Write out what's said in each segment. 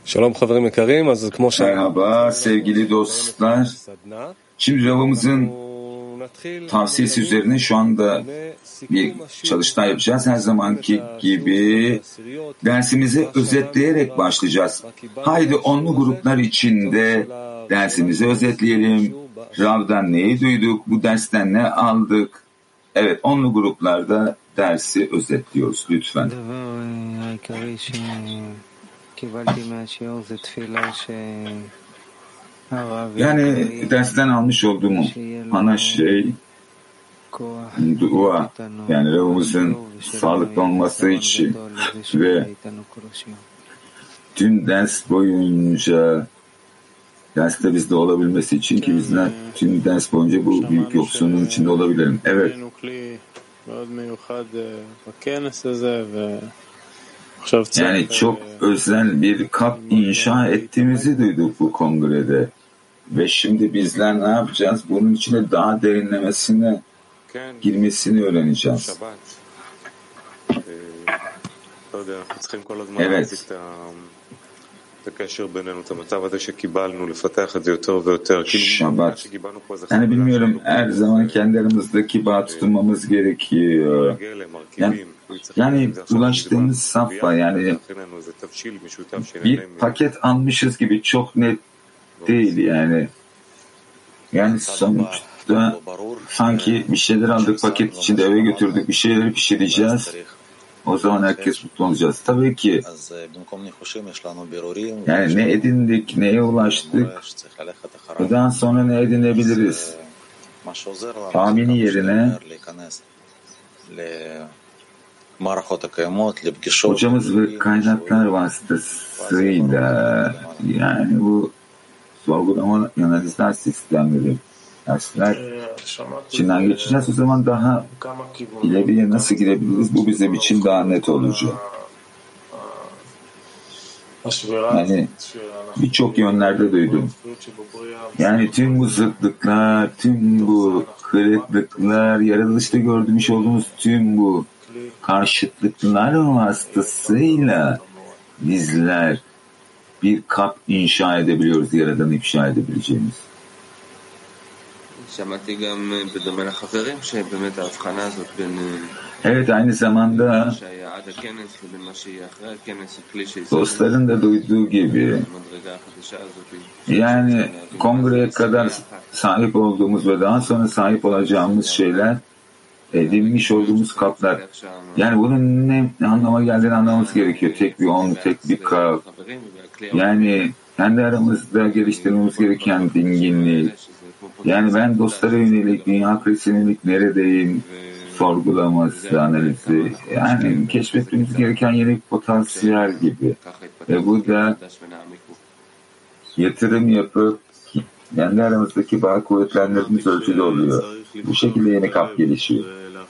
Merhaba sevgili dostlar. Şimdi Rav'ımızın tavsiyesi üzerine şu anda bir çalıştay yapacağız. Her zamanki gibi dersimizi özetleyerek başlayacağız. Haydi onlu gruplar içinde dersimizi özetleyelim. Rav'dan neyi duyduk? Bu dersten ne aldık? Evet, onlu gruplarda dersi özetliyoruz lütfen. Yani dersten almış olduğum ana şey dua, yani Rav'ımızın sağlıklı olması için ve tüm ders boyunca derste bizde olabilmesi için ki bizler tüm ders boyunca bu büyük yoksunluğun içinde olabilirim. Evet. Yani çok özel bir kap inşa ettiğimizi duyduk bu kongrede. Ve şimdi bizler ne yapacağız? Bunun içine daha derinlemesine girmesini öğreneceğiz. Evet. Şabat. Yani bilmiyorum, her zaman kendi aramızdaki bağ tutmamız gerekiyor. Yani ulaştığımız safha, yani bir paket almışız gibi çok net değil yani. Yani sonuçta sanki bir şeyler aldık paket içinde, eve götürdük, bir şeyleri pişireceğiz. O zaman herkes mutlu olacağız. Tabii ki yani ne edindik, neye ulaştık, bundan sonra ne edinebiliriz? Tahmini yerine hocamız ve kaynaklar vasıtasıyla yani bu sorgulama analizler sistemleri dersler içinden geçeceğiz. O zaman daha ileriye nasıl gidebiliriz? Bu bizim için daha net olacak. Yani birçok yönlerde duydum. Yani tüm bu zıtlıklar, tüm bu kırıklıklar, yaratılışta gördüğümüz olduğumuz tüm bu karşıtlıklar vasıtasıyla bizler bir kap inşa edebiliyoruz, Yaradan'ı ifşa edebileceğimiz. Evet, aynı zamanda dostların da duyduğu gibi yani kongreye kadar sahip olduğumuz ve daha sonra sahip olacağımız şeyler edinmiş olduğumuz kaplar. Yani bunun ne anlama geldiğini anlamamız gerekiyor. Tek bir on, tek bir kap. Yani kendi aramızda geliştirmemiz gereken dinginlik. Yani ben dostlara yönelik, dünya krizine yönelik neredeyim sorgulaması, analizi. Yani keşfetmemiz gereken yeni bir potansiyel gibi. Ve bu da yatırım yapıp kendi aramızdaki bağ kuvvetlendirdiğimiz ölçüde oluyor. Bu şekilde yeni kap gelişiyor.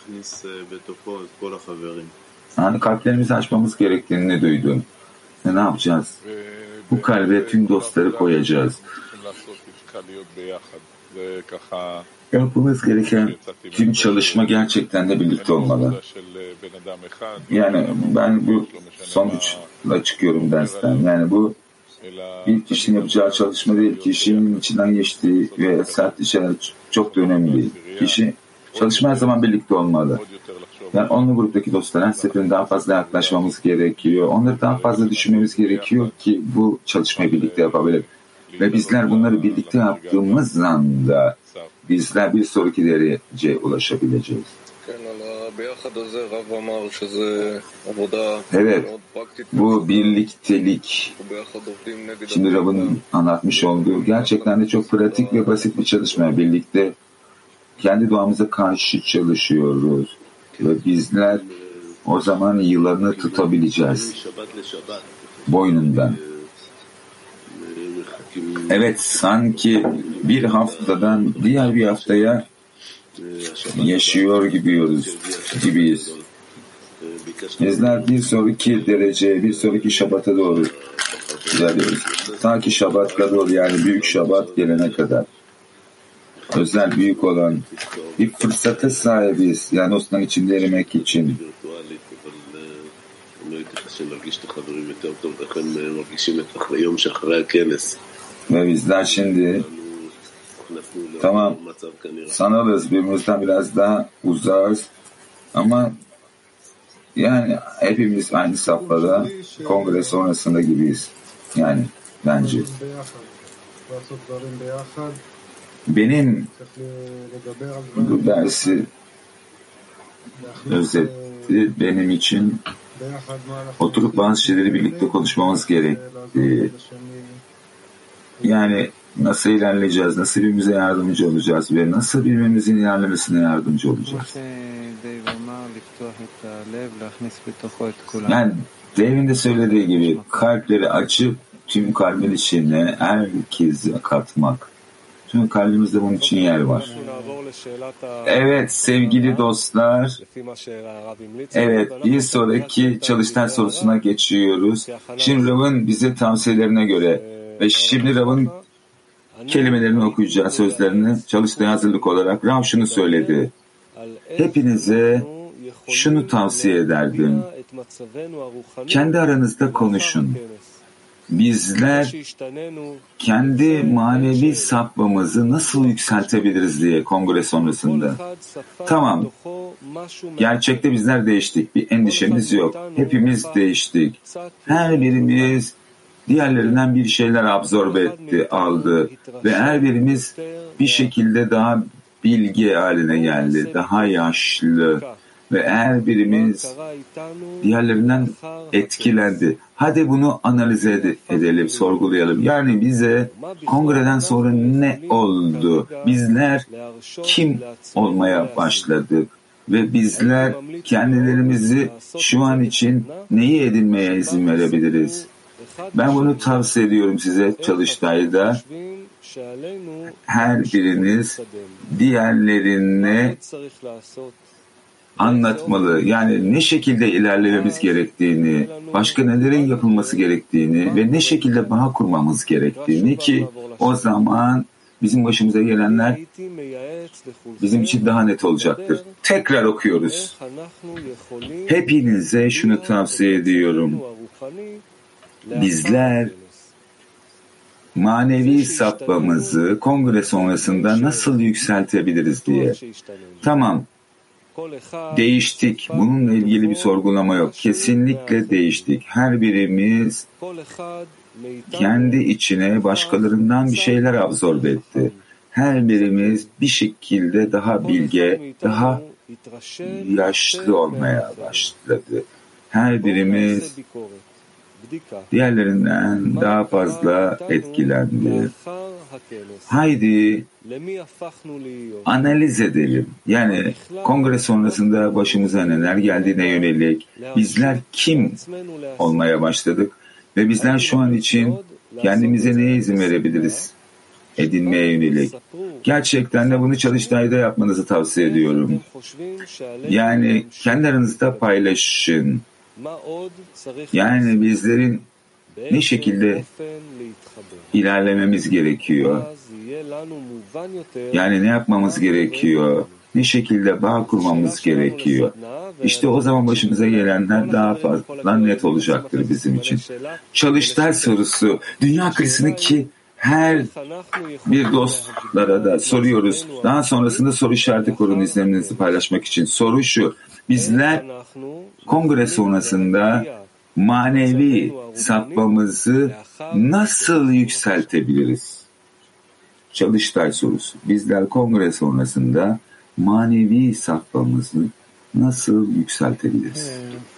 Yani kalplerimizi açmamız gerektiğini duydum. Ne yapacağız? Bu kalbe tüm dostları koyacağız. Yapmamız gereken tüm çalışma gerçekten de birlikte olmalı. Yani ben bu sonuçla çıkıyorum dersten. Yani bu bir kişinin yapacağı çalışma değil, kişinin içinden geçtiği ve sert işler çok da önemli değil. Kişi çalışma her zaman birlikte olmalı. Yani onlu gruptaki dostlara her seferinde daha fazla yaklaşmamız gerekiyor. Onları daha fazla düşünmemiz gerekiyor ki bu çalışmayı birlikte yapabilir. Ve bizler bunları birlikte yaptığımız anda bizler bir sonraki dereceye ulaşabileceğiz. Evet, bu birliktelik, şimdi Rav'ın anlatmış olduğu gerçekten de çok pratik ve basit bir çalışma. Birlikte kendi doğamıza karşı çalışıyoruz ve bizler o zaman yılanı tutabileceğiz boynundan. Evet, sanki bir haftadan diğer bir haftaya yaşıyor gibiyiz. Bizler bir sonraki dereceye, bir sonraki Şabat'a doğru ilerliyoruz. Ta ki Şabat kadar, yani büyük Şabat gelene kadar. Özel, büyük olan bir fırsata sahibiz. Yani Osman içinde erimek için. Ve bizler şimdi tamam sanırız birbirimizden biraz daha uzağız ama yani hepimiz aynı safhada kongre sonrasında gibiyiz. Yani bence. Benim bu dersi özetti benim için oturup bazı şeyleri birlikte konuşmamız gerekti. Yani nasıl ilerleyeceğiz, nasıl birbirimize yardımcı olacağız ve nasıl birbirimizin ilerlemesine yardımcı olacağız. Yani Dave'in de söylediği gibi kalpleri açıp tüm kalbin içine herkesi katmak. Tüm kalbimizde bunun için yer var. Evet sevgili dostlar. Evet bir sonraki çalıştay sorusuna geçiyoruz. Şimdi Rav'ın bize tavsiyelerine göre ve şimdi Rav'ın kelimelerini okuyacağız, sözlerini çalıştaya hazırlık olarak. Rav şunu söyledi. Hepinize şunu tavsiye ederdim. Kendi aranızda konuşun. Bizler kendi manevi safhamızı nasıl yükseltebiliriz diye kongre sonrasında. Tamam, gerçekte bizler değiştik. Bir endişemiz yok. Hepimiz değiştik. Her birimiz diğerlerinden bir şeyler absorbe etti, aldı. Ve her birimiz bir şekilde daha bilge haline geldi. Daha yaşlı. Ve her birimiz diğerlerinden etkilendi. Hadi bunu analiz edelim, sorgulayalım. Yani bize kongreden sonra ne oldu? Bizler kim olmaya başladık? Ve bizler kendilerimizi şu an için neyi edinmeye izin verebiliriz? Ben bunu tavsiye ediyorum size çalıştayda. Her biriniz diğerlerine anlatmalı. Yani ne şekilde ilerlememiz gerektiğini, başka nelerin yapılması gerektiğini ve ne şekilde bağ kurmamız gerektiğini ki o zaman bizim başımıza gelenler bizim için daha net olacaktır. Tekrar okuyoruz. Hepinize şunu tavsiye ediyorum. Bizler manevi safhamızı kongre sonrasında nasıl yükseltebiliriz diye. Tamam. Değiştik. Bununla ilgili bir sorgulama yok. Kesinlikle değiştik. Her birimiz kendi içine başkalarından bir şeyler absorbe etti. Her birimiz bir şekilde daha bilge, daha yaşlı olmaya başladı. Her birimiz diğerlerinden daha fazla etkilendi. Haydi analiz edelim. Yani kongre sonrasında başımıza neler geldiğine yönelik bizler kim olmaya başladık ve bizler şu an için kendimize neye izin verebiliriz edinmeye yönelik. Gerçekten de bunu çalıştayda yapmanızı tavsiye ediyorum. Yani kendi aranızda paylaşın. Yani bizlerin ne şekilde ilerlememiz gerekiyor? Yani ne yapmamız gerekiyor? Ne şekilde bağ kurmamız gerekiyor? İşte o zaman başımıza gelenler daha fazla net olacaktır bizim için. Çalıştay sorusu, dünya krizini ki her bir dostlara da soruyoruz. Daha sonrasında soru işareti korun izlenimlerinizi paylaşmak için. Soru şu, bizler kongre sonrasında manevi safhamızı nasıl yükseltebiliriz? Çalıştay sorusu. Bizler kongre sonrasında manevi safhamızı nasıl yükseltebiliriz?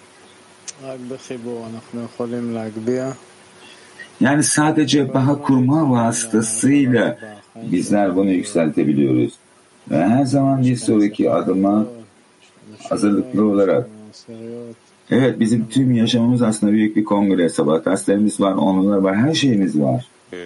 Yani sadece bağ kurma vasıtasıyla bizler bunu yükseltebiliyoruz. Ve her zaman bir sonraki adıma hazırlıklı olarak evet bizim tüm yaşamımız aslında büyük bir kongre. Sabah derslerimiz var, onurlar var, her şeyimiz var.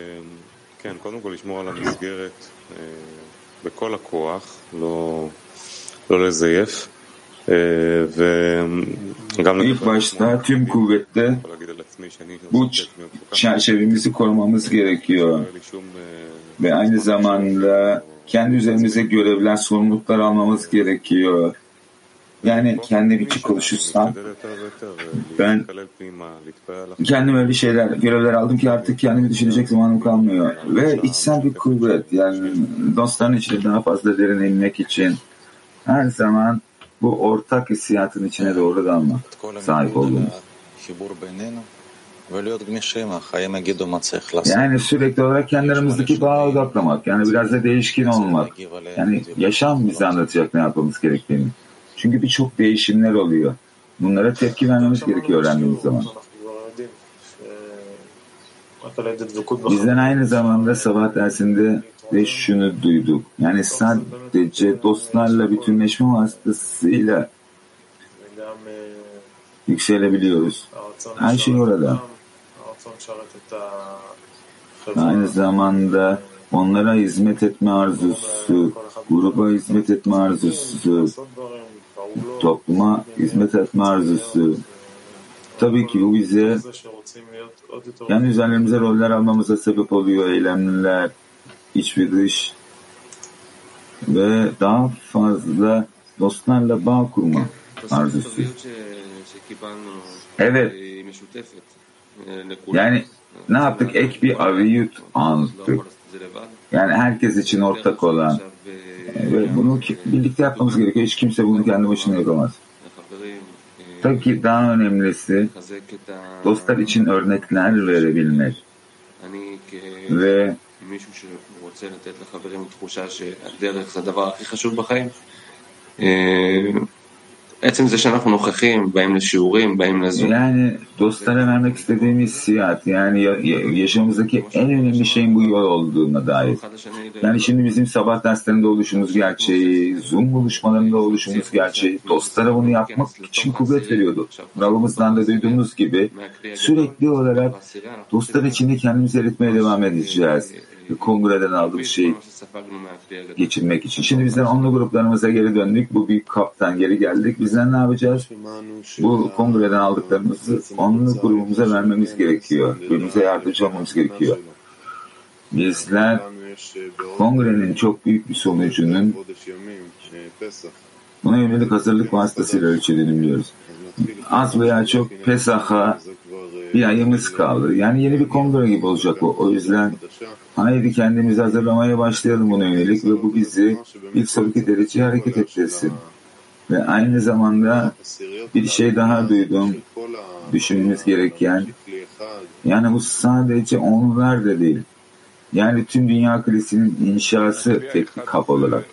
İlk başta tüm kuvvetle bu çerçevemizi korumamız gerekiyor. Ve aynı zamanda kendi üzerimize görevler, sorumluluklar almamız gerekiyor. Yani kendim için konuşursam ben kendime öyle şeyler, görevler aldım ki artık kendimi düşünecek zamanım kalmıyor. Ve içsel bir kuvvet, yani dostların içine daha fazla derin inmek için her zaman bu ortak hissiyatın içine doğru dalmak, sahip olduğumuz. Yani sürekli olarak kendi aramızdaki bağa odaklamak, yani biraz da değişkin olmak. Yani yaşam bize anlatacak ne yapmamız gerektiğini. Çünkü birçok değişimler oluyor. Bunlara tepki vermemiz gerekiyor öğrendiğimiz zaman. Bizden aynı zamanda sabah dersinde de şunu duyduk. Yani sadece dostlarla bütünleşme vasıtasıyla yükselebiliyoruz. Her şey orada. Aynı zamanda onlara hizmet etme arzusu, gruba hizmet etme arzusu, topluma hizmet etme arzusu. Tabii ki bu bize kendi üzerlerimize roller almamıza sebep oluyor, eylemler, iç ve dış ve daha fazla dostlarla bağ kurma arzusu. Evet. Yani ne yaptık? Ek bir aviyut anlattık. Yani herkes için ortak olan ve bunu birlikte yapmamız gerekiyor. Hiç kimse bunu kendi başına yapamaz. Tabii ki daha önemlisi dostlar için örnekler verebilmek ve yani dostlara vermek istediğimiz hissiyat, yani yaşamımızdaki en önemli şeyin bu yol olduğuna dair. Yani şimdi bizim sabah derslerinde oluşumuz gerçeği, Zoom buluşmalarında oluşumuz gerçeği, dostlara bunu yapmak için kuvvet veriyordu. Rabbimizden de duyduğumuz gibi sürekli olarak dostlar içinde kendimizi eritmeye devam edeceğiz. Kongreden aldığımız şeyi geçirmek için. Şimdi bizden onlu gruplarımıza geri döndük. Bu büyük kaptan geri geldik. Bizden ne yapacağız? Bu kongreden aldıklarımızı onlu grubumuza vermemiz gerekiyor. Birbirimize yardımcı olmamız gerekiyor. Bizler kongrenin çok büyük bir sonucunun buna yönelik hazırlık vasıtasıyla ölçüldüğünü biliyoruz. Az veya çok Pesach'a bir ayımız kaldı. Yani yeni bir kongre gibi olacak bu. O yüzden haydi kendimizi hazırlamaya başlayalım buna yönelik ve bu bizi bir sonraki dereceye hareket ettirsin. Ve aynı zamanda bir şey daha duydum, düşünmemiz gereken, yani bu sadece onlar da değil. Yani tüm dünya kilisinin inşası tek bir kap olarak.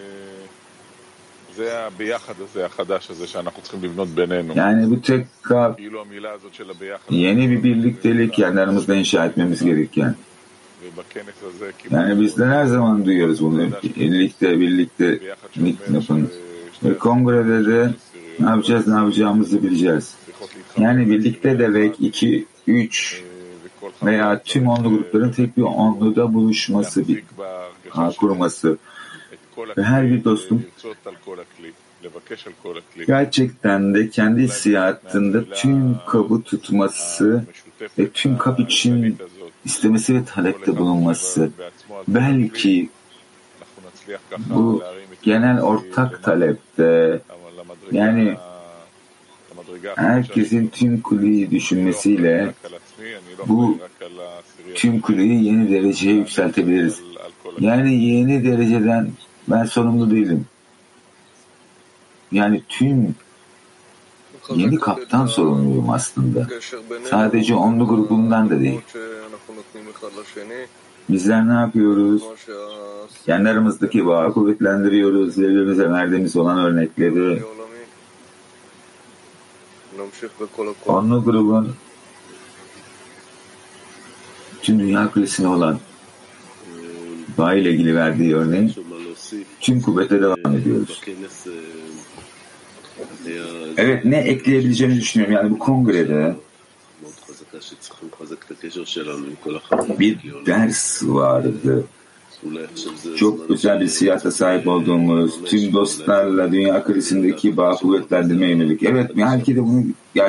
Yani bu tek kap, yeni bir birliktelik kendi aramızda inşa etmemiz gereken. Yani bizler her zaman duyuyoruz bunu. Birlikte yapın. Ve kongrede de ne yapacağız, ne yapacağımızı bileceğiz. Yani birlikte demek 2, 3 veya tüm onlu grupların tek bir onluda buluşması, bir kurması. Ve her bir dostum gerçekten de kendi hissiyatında tüm kabı tutması ve tüm kap için istemesi ve talepte bulunması. Belki bu genel ortak talepte, yani herkesin tüm kuleyi düşünmesiyle bu tüm kuleyi yeni dereceye yükseltebiliriz. Yani yeni dereceden ben sorumlu değilim. Yani tüm yeni kaptan sorumluyum aslında. Sadece onlu grubundan da değil. Bizler ne yapıyoruz? Kendi aramızdaki bağı kuvvetlendiriyoruz. Birbirimize verdiğimiz olan örnekleri. Onlu grubun tüm dünya kulesine olan bağ ile ilgili verdiği örneğin tüm kuvvete devam ediyoruz. Evet, ne ekleyebileceğimi düşünüyorum. Yani bu kongrede bir ders vardı. Çok özel bir siyasete sahip olduğumuz, tüm dostlarla dünya krizindeki bağ kuvvetlendirmeye yönelik. Evet, belki de bunu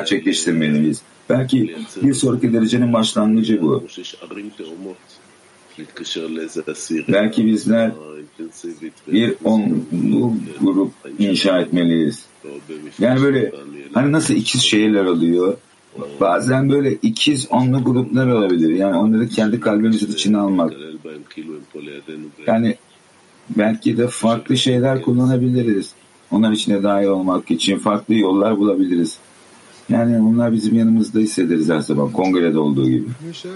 gerçekleştirmeliyiz. Belki bir sonraki derecenin başlangıcı bu. Belki bizler bir onlu grup inşa etmeliyiz. Yani böyle hani nasıl ikiz şehirler oluyor, bazen böyle ikiz onlu gruplar olabilir. Yani onları kendi kalbimizin içine almak. Yani belki de farklı şeyler kullanabiliriz. Onlar içine dahil olmak için farklı yollar bulabiliriz. Yani onlar bizim yanımızda hissederiz her zaman, kongrede olduğu gibi.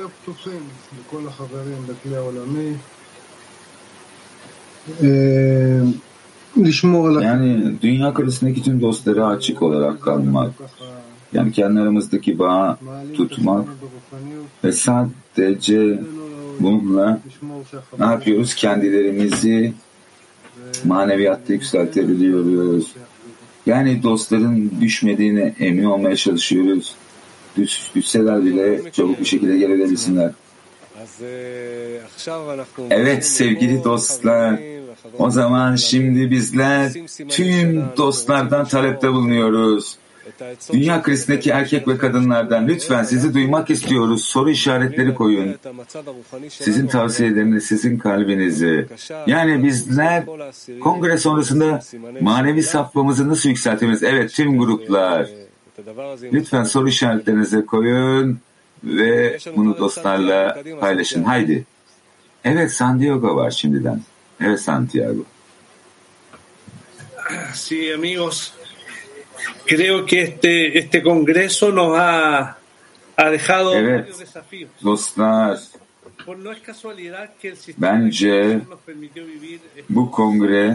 Yani dünya karşısındaki tüm dostlara açık olarak kalmak, yani kendi aramızdaki bağı tutmak ve sadece bununla ne yapıyoruz? Kendilerimizi maneviyatta yükseltebiliyoruz. Yani dostların düşmediğine emin olmaya çalışıyoruz. Düşseler bile çabuk bir şekilde gelebilsinler. Evet sevgili dostlar, o zaman şimdi bizler tüm dostlardan talepte bulunuyoruz. Dünya krizindeki erkek ve kadınlardan lütfen sizi duymak istiyoruz. Soru işaretleri koyun. Sizin tavsiyeleriniz, sizin kalbinizi. Yani bizler kongre sonrasında manevi saflığımızı nasıl yükseltiriz? Evet, tüm gruplar. Lütfen soru işaretlerinizi koyun ve bunu dostlarla paylaşın. Haydi. Evet, Santiago var şimdiden. Evet, Santiago. Sí, amigos. Creo que este congreso nos ha dejado varios desafíos. Dostlar, bence bu kongre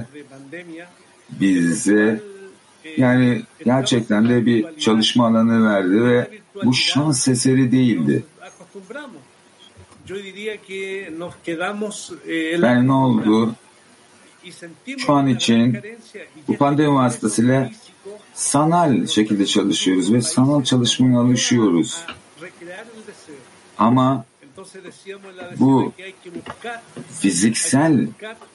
bize yani gerçekten de bir çalışma alanı verdi ve bu şans eseri değildi. Yani ne oldu? Şu an için bu pandemi vasıtasıyla sanal şekilde çalışıyoruz ve sanal çalışmaya alışıyoruz. Ama bu fiziksel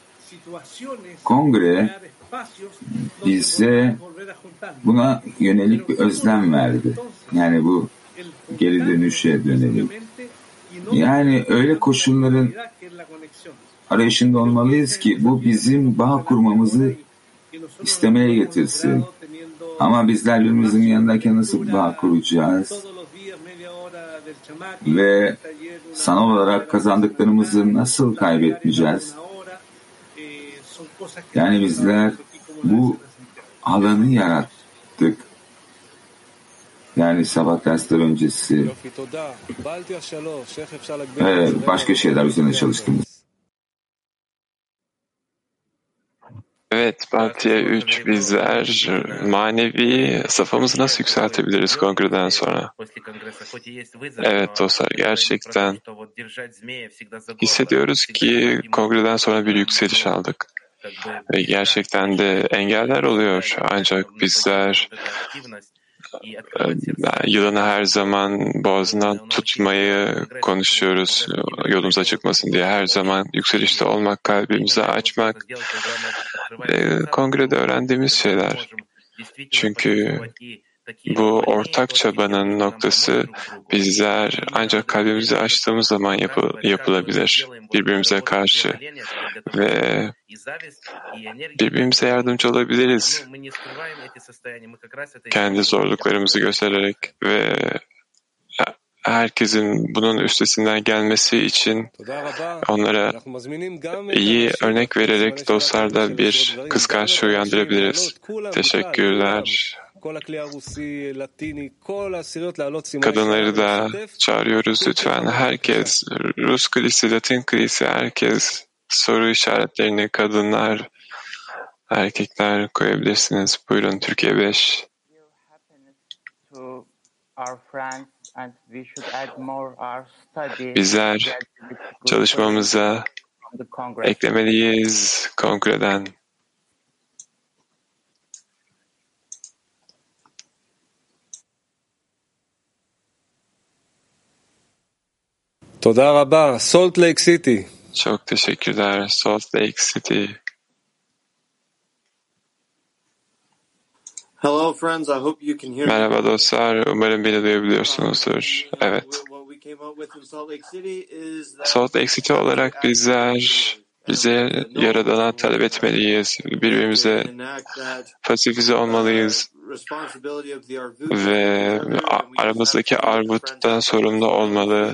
kongre bize buna yönelik bir özlem verdi. Yani bu geri dönüşe dönelim. Yani öyle koşulların arayışında olmalıyız ki bu bizim bağ kurmamızı istemeye getirsin. Ama bizler birbirimizin yanındayken nasıl bağ kuracağız? Ve sanal olarak kazandıklarımızı nasıl kaybetmeyeceğiz? Yani bizler bu alanı yarattık. Yani sabah dersler öncesi başka şeyler üzerine çalıştığımız. Evet, Baltiye 3 bizler manevi safhamızı nasıl yükseltebiliriz kongreden sonra? Evet dostlar, gerçekten hissediyoruz ki kongreden sonra bir yükseliş aldık. Ve gerçekten de engeller oluyor. Ancak bizler yılanı her zaman boğazından tutmayı konuşuyoruz. Yolumuza çıkmasın diye her zaman yükselişte olmak, kalbimizi açmak. Kongrede öğrendiğimiz şeyler. Çünkü bu ortak çabanın noktası bizler ancak kalbimizi açtığımız zaman yapılabilir birbirimize karşı ve birbirimize yardımcı olabiliriz. Kendi zorluklarımızı göstererek ve herkesin bunun üstesinden gelmesi için onlara iyi örnek vererek dostlarda bir kıskançlığı uyandırabiliriz. Teşekkürler. Kadınları da çağırıyoruz lütfen. Herkes, Rus kilisi, Latin kilisi, herkes soru işaretlerini kadınlar, erkekler koyabilirsiniz. Buyurun Türkiye 5. Bizler çalışmamıza eklemeliyiz kongreden. Toda rabba, Salt Lake City. Çok teşekkürler, Salt Lake City. Hello friends, I hope you can hear me. Merhaba dostlar, umarım beni duyabiliyorsunuzdur. Evet. Salt Lake City olarak bize Yaradan'a talep etmeliyiz. Birbirimize pasifize olmalıyız. Ve aramızdaki armuttan sorumlu olmalı.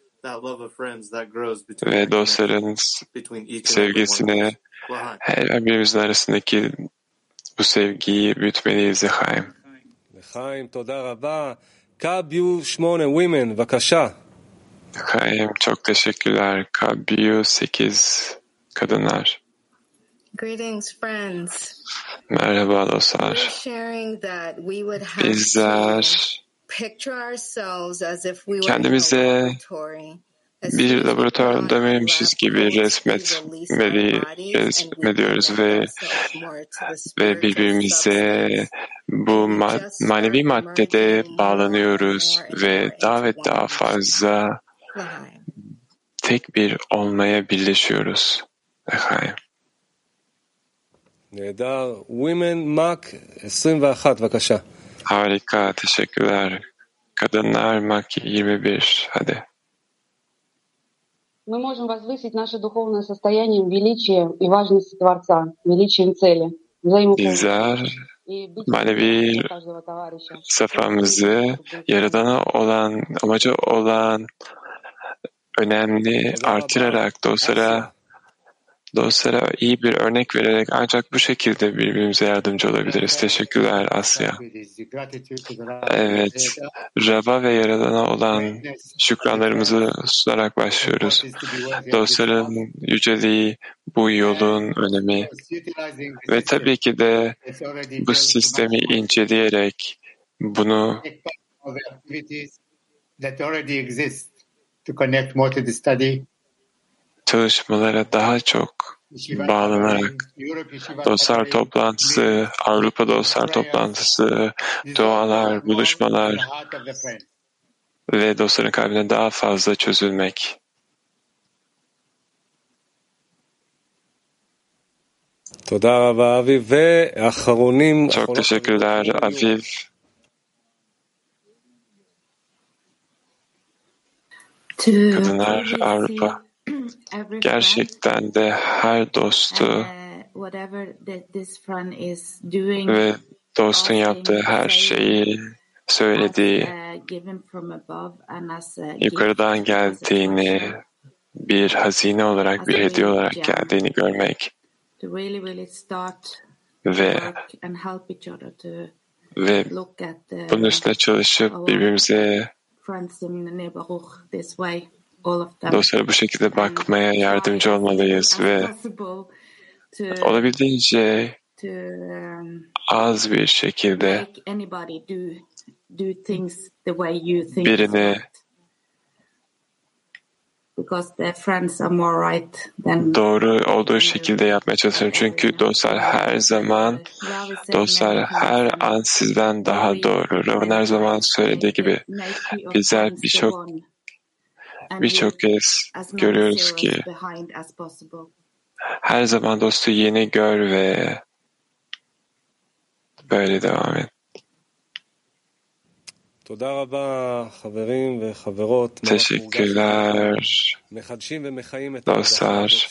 Ve dostların sevgisini, her birimizin arasındaki bu sevgiyi büyütmeliyiz Chaim. Chaim, toda rabba. Kabiu 8 women, vakasha. Chaim, çok teşekkürler. Kabiu 8 kadınlar. Greetings, friends. Merhaba dostlar. Bizler kendimize bir laboratuvardaymışız gibi resmediyoruz ve birbirimize bu manevi maddede bağlanıyoruz ve daha ve daha fazla tek bir olmaya birleşiyoruz. Echaim. Nedar. Women Mak 21, vakasha. Harika, teşekkürler. Kadınlar Mak 21, hadi. Мы можем возвысить наше духовное состояние величием и важностью Творца, величием цели, Bizler manevi safhamızı Yaradan'a olan, amacı olan önemli artırarak dostlara iyi bir örnek vererek ancak bu şekilde birbirimize yardımcı olabiliriz. Teşekkürler Asya. Evet, Rab'a ve Yaradan'a olan şükranlarımızı sunarak başlıyoruz. Dostların yüceliği, bu yolun önemi ve tabii ki de bu sistemi inceleyerek bunu çalışmalara daha çok bağlanarak dostlar toplantısı, Avrupa dostlar toplantısı, dualar, buluşmalar ve dostların kalbine daha fazla çözülmek. Çok teşekkürler Aviv. Kadınlar Avrupa. Gerçekten de her dostu ve dostun yaptığı her şeyi söylediği, yukarıdan geldiğini, bir hazine olarak, bir hediye olarak geldiğini görmek ve bunun üstüne çalışıp birbirimize dostlara bu şekilde bakmaya yardımcı olmalıyız ve olabildiğince az bir şekilde birini doğru olduğu şekilde yapmaya çalışıyorum. Çünkü dostlar her an sizden daha doğru. Rav'ın her zaman söylediği gibi bizler birçok kez görüyoruz ki her zaman dostu yeni gör ve böyle devam et. Teşekkürler dostlar.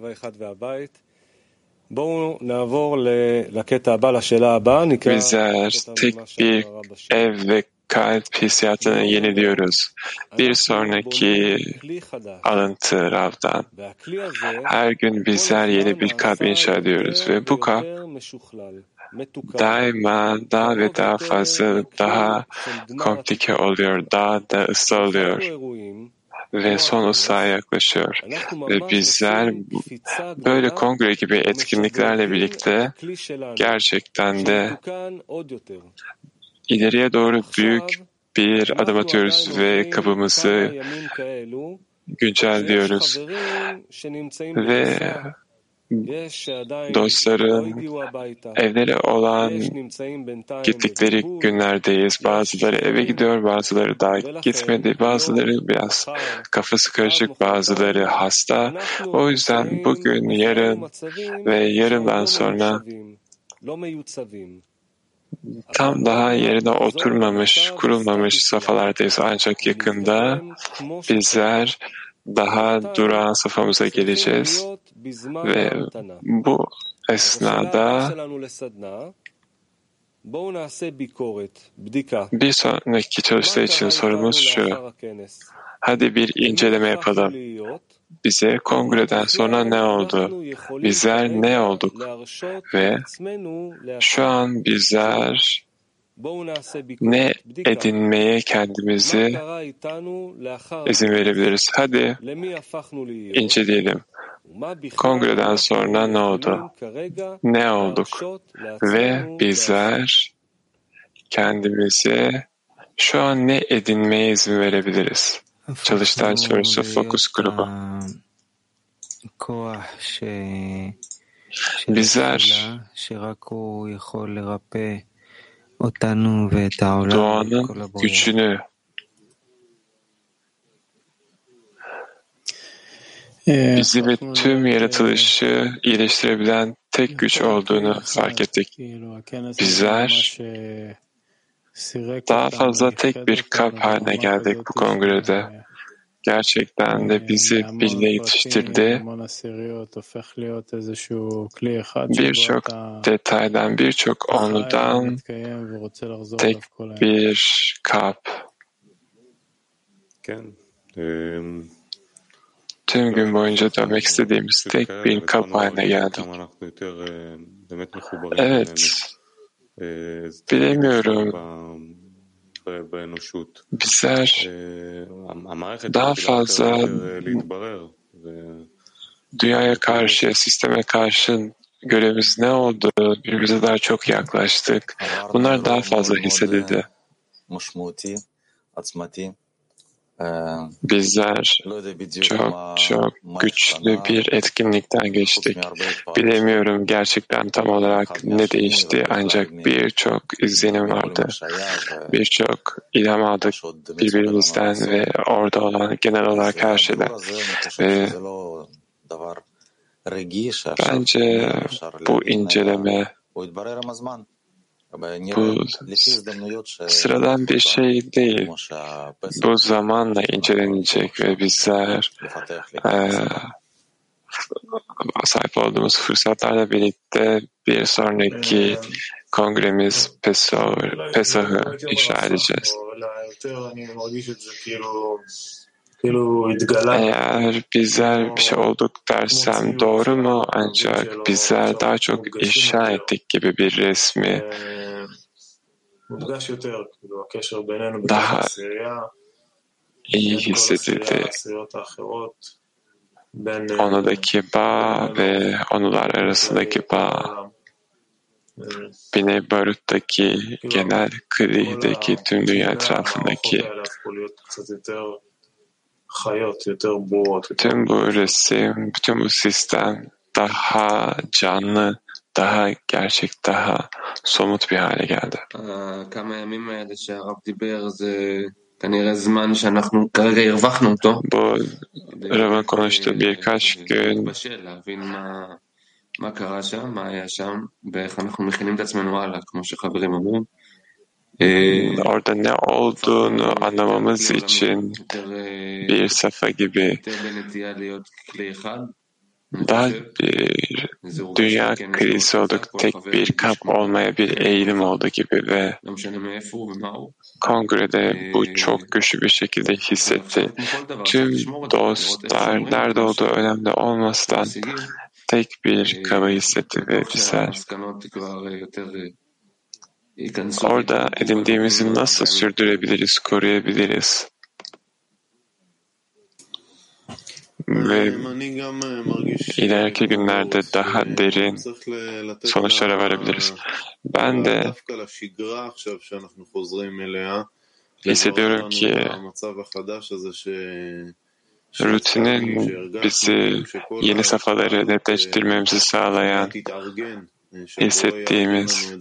Bizler tek bir ev ve kalp hissiyatını yeniliyoruz. Bir sonraki alıntı Rav'dan. Her gün bizler yeni bir kalp inşa ediyoruz ve bu kalp daima daha ve daha fazla, daha komplike oluyor, daha da ıslah oluyor ve son ıslaha yaklaşıyor. Ve bizler böyle kongre gibi etkinliklerle birlikte gerçekten de ileriye doğru büyük bir adım atıyoruz ve kapımızı güncelliyoruz. Ve dostların evleri olan gittikleri günlerdeyiz. Bazıları eve gidiyor, bazıları daha gitmedi, bazıları biraz kafası karışık, bazıları hasta. O yüzden bugün, yarın ve yarından sonra tam daha yerine oturmamış, kurulmamış safhalardayız. Ancak yakında bizler daha durağan safhamıza geleceğiz ve bu esnada bir sonraki çalıştay için sorumuz şu: hadi bir inceleme yapalım. Bize kongreden sonra ne oldu? Bizler ne olduk? Ve şu an bizler ne edinmeye kendimizi izin verebiliriz? Hadi inceleyelim. Kongreden sonra ne oldu? Ne olduk? Ve bizler kendimize şu an ne edinmeye izin verebiliriz? Çalıştay sorusu fokus grubu. Bizler doğanın gücünü bizi ve tüm yaratılışı iyileştirebilen tek güç olduğunu fark ettik. Bizler daha fazla tek bir kap haline geldik bu kongrede. Gerçekten de bizi birliğe yetiştirdi. Birçok detaydan, birçok onludan tek bir kap. Tüm gün boyunca dönmek istediğimiz tek bir kap haline geldik. Evet, bilemiyorum. Bizler daha fazla dünyaya karşı, sisteme karşı görevimiz ne oldu? Birbirimize daha çok yaklaştık. Bunlar daha fazla hissedildi. Bizler çok güçlü bir etkinlikten geçtik. Bilemiyorum gerçekten tam olarak ne değişti, ancak birçok izlenim vardı. Birçok ilham aldık birbirimizden ve orada olan genel olarak her şeyden. Ve bence bu inceleme, bu sıradan bir şey değil. Bu zamanla incelenecek ve bizler sahip olduğumuz fırsatlarla birlikte bir sonraki kongremiz Pesah'ı inşa edeceğiz. Eğer bizler bir şey olduk dersem doğru mu? Ancak bizler daha çok inşa ettik gibi bir resmi daha iyi hissedildi. Onudaki bağ ve onular arasındaki bağ, Bnei Barut'taki, genel Kri'deki, tüm dünya etrafındaki tüm bu resim, bütün bu sistem daha canlı, daha gerçek, daha somut bir hale geldi. Bu Rav'ın konuştuğu birkaç gün orada ne olduğunu anlamamız için bir safa gibi daha bir dünya krizi olduk, tek bir kap olmaya bir eğilim oldu gibi ve kongrede bu çok güçlü bir şekilde hissetti. Tüm dostlar nerede olduğu önemli olmasından tek bir kaba hissetti ve bizler orada edindiğimizi nasıl sürdürebiliriz, koruyabiliriz? Ve ileriki günlerde daha derin sonuçlara varabiliriz. Ben de hissediyorum ki rutinin bizi yeni safhaları netleştirmemizi sağlayan hissettiğimiz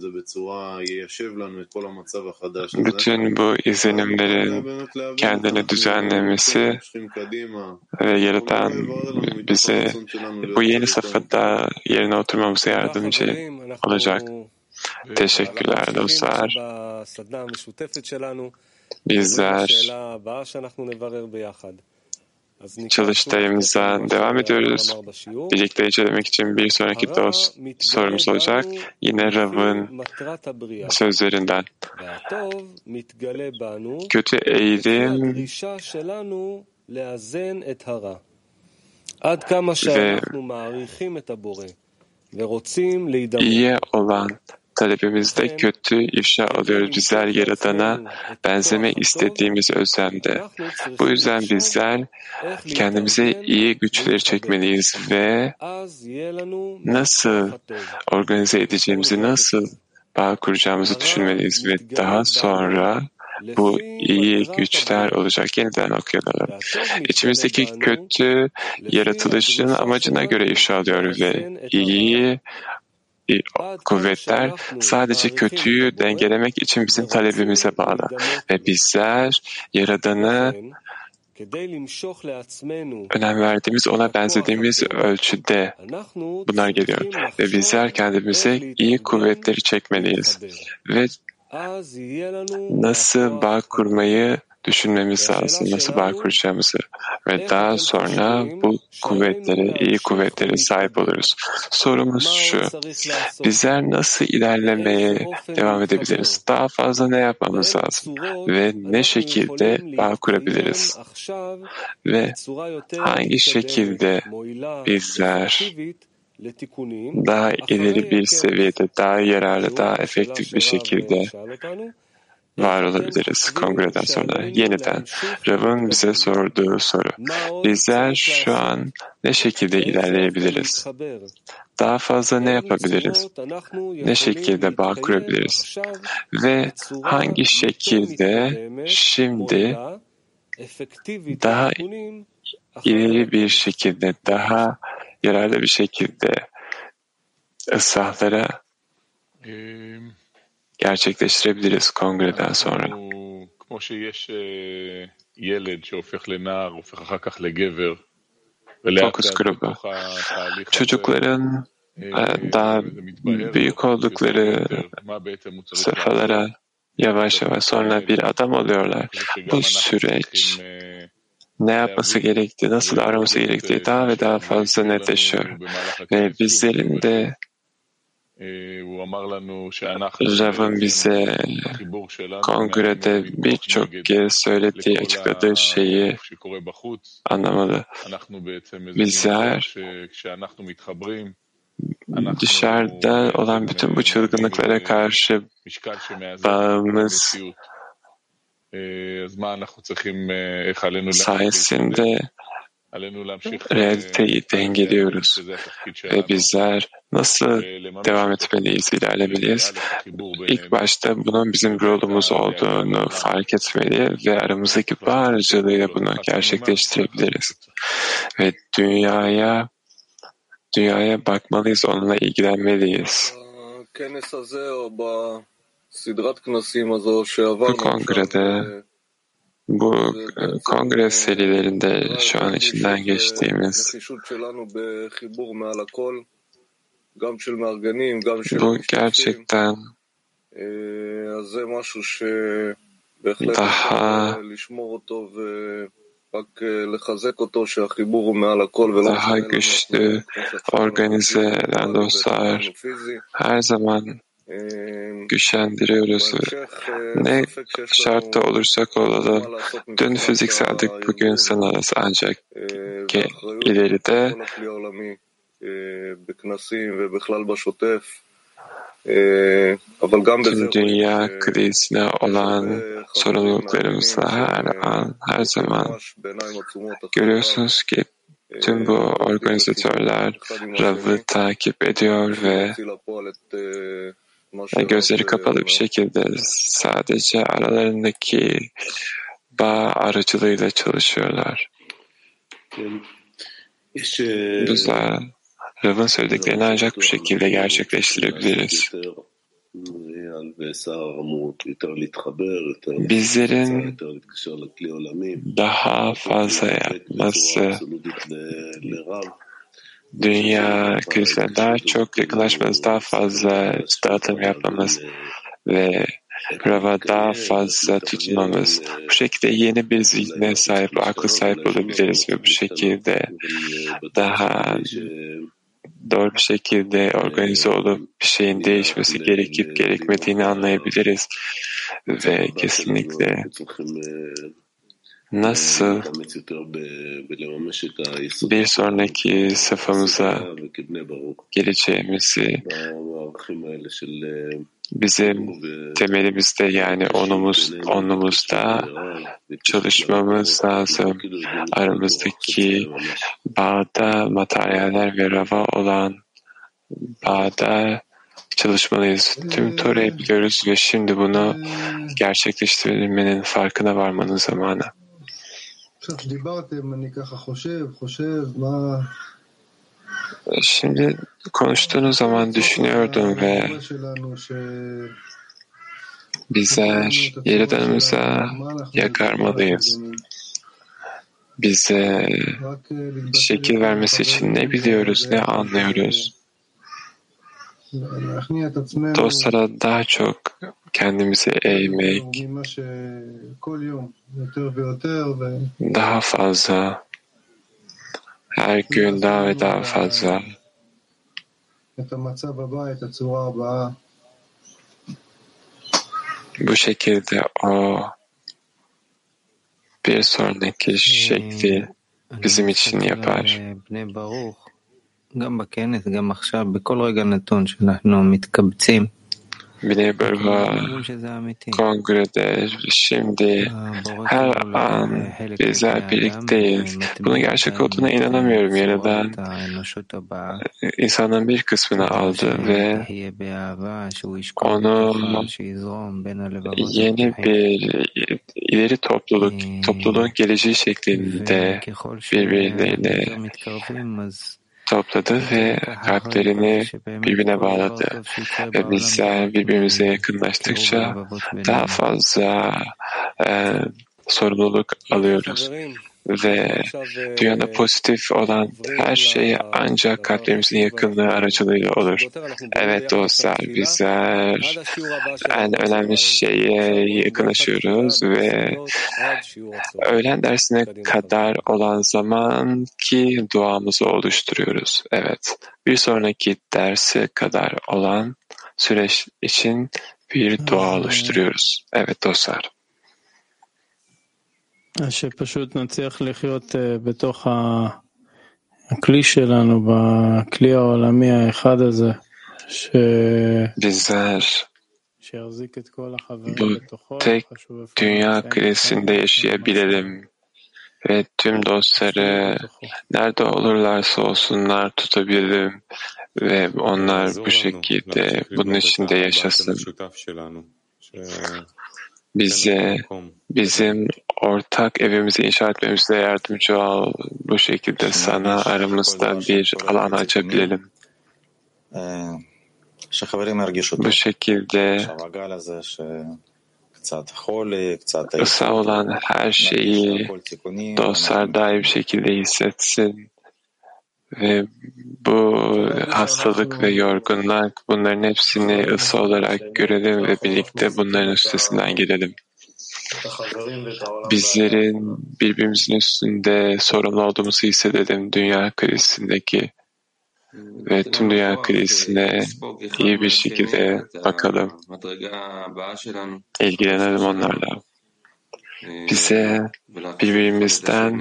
bütün bu izlenimlerin kendini düzenlemesi ve yaratan bize bu yeni safhada yerine oturmamıza yardımcı olacak. Teşekkürler dostlar. Bizler çalıştayımıza devam ediyoruz. Birlikte incelemek için bir sonraki sorumuz olacak. Yine Rav'ın sözlerinden. Kötü eğilim ve iyiye olan talebimizde kötü ifşa alıyoruz. Bizler Yaradan'a benzeme istediğimiz özlemde. Bu yüzden bizler kendimize iyi güçleri çekmeliyiz ve nasıl organize edeceğimizi, nasıl bağ kuracağımızı düşünmeliyiz ve daha sonra bu iyi güçler olacak. Yeniden okuyalım. İçimizdeki kötü yaratılışın amacına göre ifşa alıyor ve iyi kuvvetler sadece kötüyü dengelemek için bizim talebimize bağlı. Ve bizler Yaradan'ı önem verdiğimiz, ona benzediğimiz ölçüde bunlar geliyor. Ve bizler kendimize iyi kuvvetleri çekmeliyiz. Ve nasıl bağ kurmayı düşünmemiz lazım, nasıl bağ kuracağımızı ve daha sonra bu kuvvetlere, iyi kuvvetlere sahip oluruz. Sorumuz şu, bizler nasıl ilerlemeye devam edebiliriz? Daha fazla ne yapmamız lazım? Ve ne şekilde bağ kurabiliriz? Ve hangi şekilde bizler daha ileri bir seviyede, daha yararlı, daha efektif bir şekilde var olabiliriz kongreden sonra. Yeniden Rav'ın bize sorduğu soru. Bizler şu an ne şekilde ilerleyebiliriz? Daha fazla ne yapabiliriz? Ne şekilde bağ kurabiliriz? Ve hangi şekilde şimdi daha ileri bir şekilde, daha yararlı bir şekilde ıslahlara gerçekleştirebiliriz kongreden sonra. Fokus grubu. Çocukların daha büyük oldukları safhalara yavaş yavaş sonra bir adam oluyorlar. Bu süreç ne yapması gerektiği, nasıl araması gerektiği daha ve daha fazla netleşiyor. Ve bizlerin de Rav'ın bize kongrede birçok kez söylediği, açıkladığı şeyi anlamalı. Bizler dışarıda olan bütün bu çılgınlıklara karşı bağımız sayesinde realiteyi dengeliyoruz ve bizler nasıl devam etmeliyiz, ilerlemeliyiz? İlk başta bunun bizim rolümüz olduğunu fark etmeli ve aramızdaki bağ aracılığıyla bunu gerçekleştirebiliriz. Ve dünyaya bakmalıyız, onunla ilgilenmeliyiz. Bu kongrede, bu kongre serilerinde şu an içinden geçtiğimiz bu gerçekten daha güçlü, organize eden dostlar her zaman güçlendiriyoruz. Ne şartta olursak olalım, dün fizikseldik, bugün sanarız ancak ileride tüm dünya krizine olan sorumluluklarımızla her an, her zaman görüyorsunuz ki tüm bu organizatörler Rav'ı takip ediyor ve gözleri kapalı bir şekilde sadece aralarındaki bağ aracılığıyla çalışıyorlar. Bizler Rav'ın söylediklerini ancak bu şekilde gerçekleştirebiliriz. Bizlerin daha fazla yapması dünya krizine daha çok yakınlaşmamız, daha fazla dağıtım yapmamız ve Rav'a daha fazla tutunmamız, bu şekilde yeni bir zihne sahip, akla sahip olabiliriz ve bu şekilde daha doğru bir şekilde organize olup bir şeyin değişmesi gerekip gerekmediğini anlayabiliriz ve kesinlikle nasıl bir sonraki safhamıza geleceğimizi bizim temelimizde, yani onumuzda çalışmamız lazım. Aramızdaki bağda, materyaller ve Rav'a olan bağda çalışmalıyız. Tüm Tora'yı biliyoruz ve şimdi bunu gerçekleştirmenin farkına varmanın zamanı. Şimdi konuştuğunuz zaman düşünüyordum ve bizler Yaradanımıza yakarmalıyız. Bize şekil vermesi için ne biliyoruz, ne anlıyoruz? Dostlara daha çok kendimizi eğmek, daha fazla, her gün daha ve daha fazla bu şekilde o bir sonraki şekli bizim için yapar. Bnei Baruch'a kongrede şimdi her an bizler birlikteyiz. Bunun gerçek olduğuna inanamıyorum. Yaradan insanın bir kısmını aldı ve onu yeni bir ileri topluluğun geleceği şeklinde birbirleriyle topladı ve kalplerini birbirine bağladı. Ve bizler birbirimize yakınlaştıkça daha fazla sorumluluk alıyoruz. Ve dünyada pozitif olan her şey ancak kalplerimizin yakınlığı aracılığıyla olur. Evet dostlar, bizler en önemli şeye yakınlaşıyoruz ve öğlen dersine kadar olan zamanki duamızı oluşturuyoruz. Evet, bir sonraki derse kadar olan süreç için bir dua oluşturuyoruz. Evet dostlar. שפשוט נצליח לחיות בתוך הכלי שלנו, בכלי העולמי האחד הזה, שיחזיק את כל החברים בתוכו. tek dünya krizinde yaşayabilelim ve tüm dostları nerede olurlarsa olsunlar tutabilelim ve onlar bu şekilde bunun içinde yaşasın. Bize bizim ortak evimizi inşa etmemize yardımcı ol. Bu şekilde sana aramızda bir alan açabilelim. Bu şekilde ısı olan her şeyi dostlar daha iyi bir şekilde hissetsin. Ve bu hastalık ve yorgunluk, bunların hepsini ısı olarak görelim ve birlikte bunların üstesinden gelelim. Bizlerin birbirimizin üstünde sorumlu olduğumuzu hissedelim dünya krizindeki ve tüm dünya krizine iyi bir şekilde bakalım. İlgilenelim onlarla. Bize birbirimizden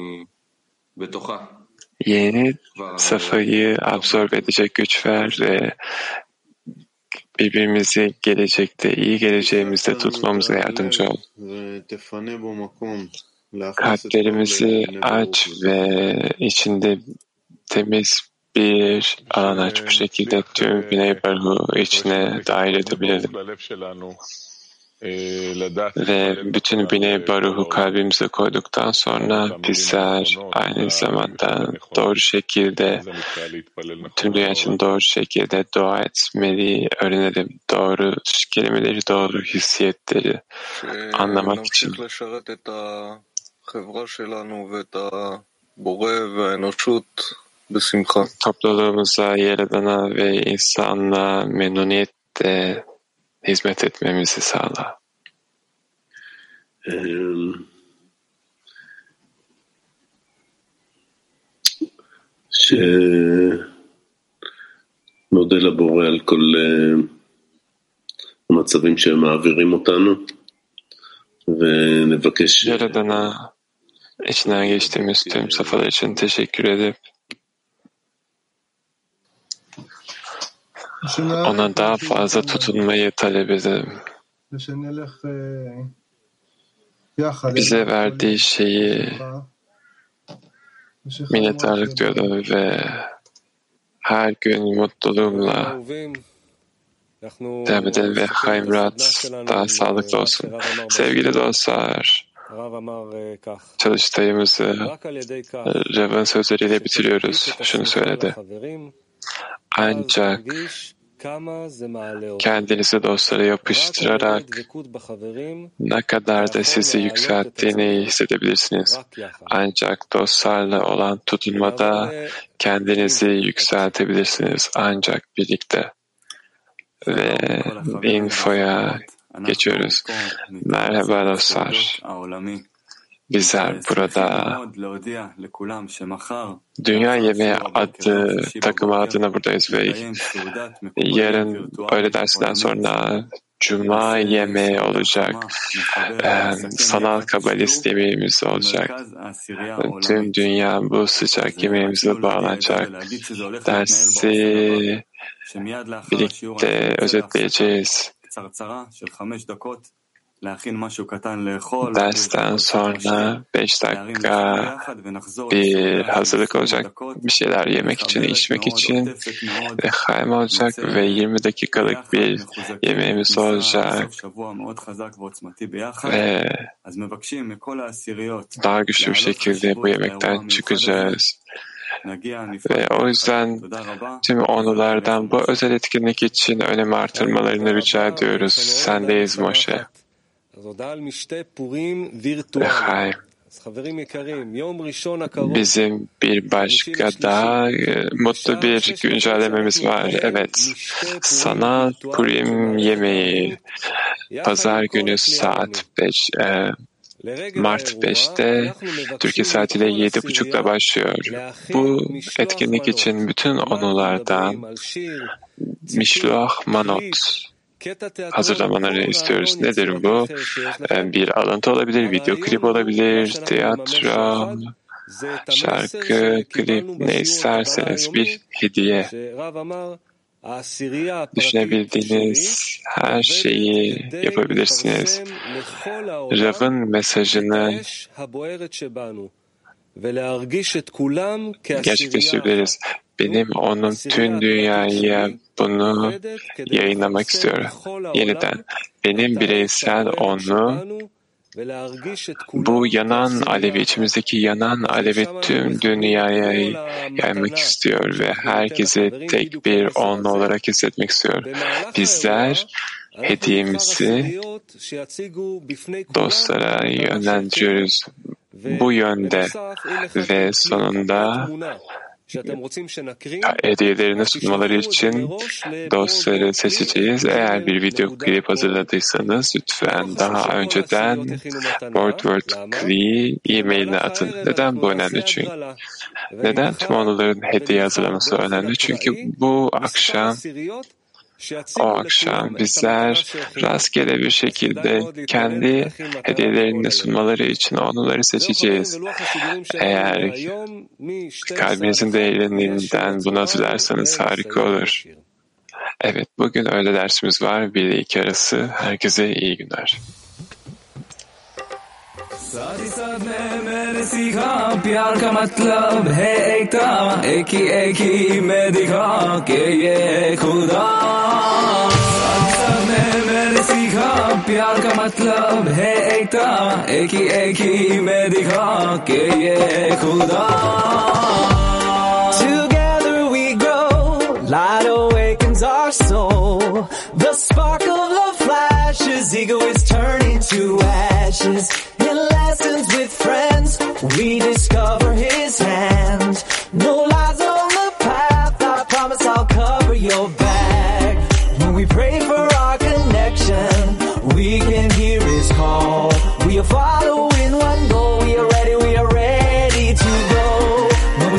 yeni safhayı absorbe edecek güç ver ve birbirimizi gelecekte, iyi geleceğimizde tutmamıza yardımcı ol. Kalplerimizi aç ve içinde temiz bir alan aç. Bu şekilde tüm Bnei Baruch'u içine dahil edebilelim. Ve bütün Bnei Baruch'u kalbimize koyduktan sonra bizler aynı zamanda doğru şekilde tüm dünya için doğru şekilde dua etmeyi öğrenelim. Doğru kelimeleri, doğru hissiyetleri anlamak için. Topluluğumuza, Yaradan'a ve insanlığa memnuniyetle hizmet etmemizi sağla. נודה לבורא על כל המצבים שהם מעבירים אותנו ונבקש Yaradan'a içinden geçtiğimiz tüm safhalar için teşekkür edip ona daha fazla tutunmayı talep edelim. Bize verdiği şeyi minnettarlık duyalım ve her gün mutluluğumla devam edelim ve Haimrat daha sağlıklı olsun. Sevgili dostlar, çalıştayımızı Rav'ın sözleriyle bitiriyoruz. Şunu söyledi. Ancak kendinizi dostlara yapıştırarak ne kadar da sizi yükselttiğini hissedebilirsiniz. Ancak dostlarla olan tutunmada kendinizi yükseltebilirsiniz. Ancak birlikte. Ve infoya geçiyoruz. Merhaba dostlar. Bizler burada Dünya Yemeği adlı takım adına buradayız ve yarın öğle dersinden sonra Cuma yemeği olacak. Sanal kabalist yemeğimiz olacak. Tüm dünya bu sıcak yemeğimize bağlanacak. Dersi birlikte özetleyeceğiz. Dersten sonra 5 dakika bir hazırlık olacak. Bir şeyler yemek için, içmek için ve haym olacak ve 20 dakikalık bir yemeğimiz olacak. Ve daha güçlü bir şekilde bu yemekten çıkacağız. Ve o yüzden tüm onulardan bu özel etkinlik için önem artırmalarını rica ediyoruz. Sendeyiz Moshe. Hayır. Bizim bir başka daha mutlu bir güncellememiz var. Evet. Sanal Purim yemeği Pazar günü saat 5 Mart 5'te Türkiye saatiyle 7.30'da başlıyor. Bu etkinlik için bütün onulardan Mishloach Manot hazırlamaları istiyoruz. Nedir bu? Bir alıntı olabilir, video klip olabilir, tiyatro, şarkı, klip, ne isterseniz bir hediye. Düşünebildiğiniz her şeyi yapabilirsiniz. Rav'ın mesajını gerçekleştirebiliriz. Benim onun tüm dünyaya bunu yayınlamak istiyorum. Yeniden benim bireysel onu bu yanan alevi, içimizdeki yanan alevi tüm dünyaya yaymak istiyor ve herkese tek bir onlu olarak hissetmek istiyor. Bizler hediyemizi dostlara yönlendiriyoruz bu yönde ve sonunda hediyelerini sunmaları için dostları seçeceğiz. Eğer bir video klip hazırladıysanız lütfen daha önceden WordClick'i e-mailine atın. Neden bu önemli? Çünkü neden tüm onların hediye hazırlaması önemli? Çünkü bu akşam o akşam bizler rastgele bir şekilde kendi hediyelerini sunmaları için onları seçeceğiz. Eğer kalbinizin derinliğinden bunu hatırlarsanız harika olur. Evet, bugün öğle dersimiz var. 1 ile 2 arası. Herkese iyi günler. साथ ही साथ मैंने सीखा प्यार का मतलब है एकता एक ही में दिखा के ये खुदा साथ ही साथ मैंने सीखा प्यार का मतलब है एकता एक ही में दिखा के ये खुदा Together we grow, light awakens our soul, the spark of love flashes, ego is turning to ashes. Lessons with friends, we discover his hand. No lies, no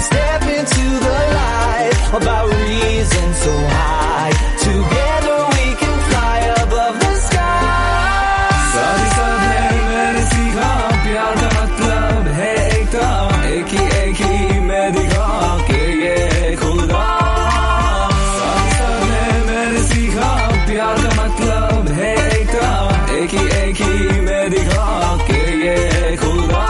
step into the light, about reason so high. Together we can fly above the sky. साथ साथ है मैंने सीखा प्यार का मतलब है एकता, एक ही मैं दिखा के ये खुदा। साथ साथ है मैंने सीखा प्यार का मतलब है एकता, एक ही मैं दिखा के ये खुदा।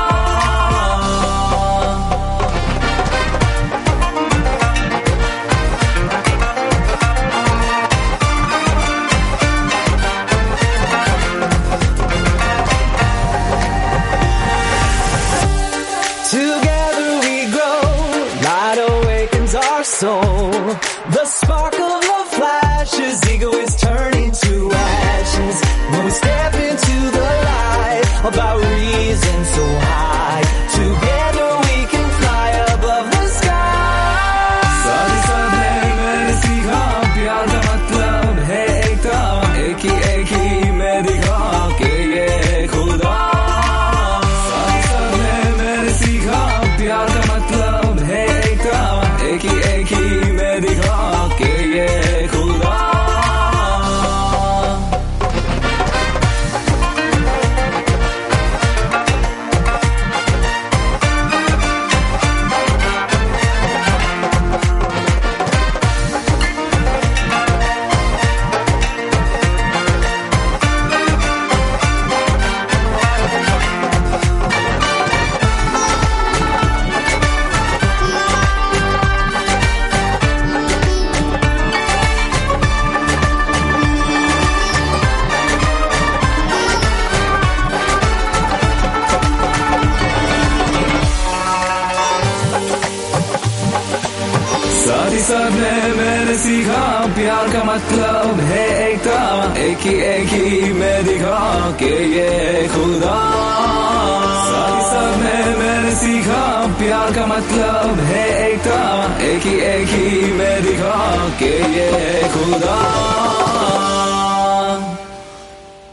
Together we grow, light awakens our soul. The spark of love flashes, ego is turning to ashes. When we step into the light, about reason so high. Together we can fly above the sky. साथ साथ है मैंने सीखा प्यार का मतलब है एकता, एक ही मैं दिखा के ये खुदा। साथ साथ है मैंने सीखा प्यार का मतलब है एकता, एक ही मैं दिखा के ये खुदा। साथ ही साथ मैंने सीखा प्यार का मतलब है एकता, एक ही मैं दिखा के ये खुदा। साथ ही साथ मैंने सीखा प्यार का मतलब है एकता, एक ही मैं दिखा के ये खुदा।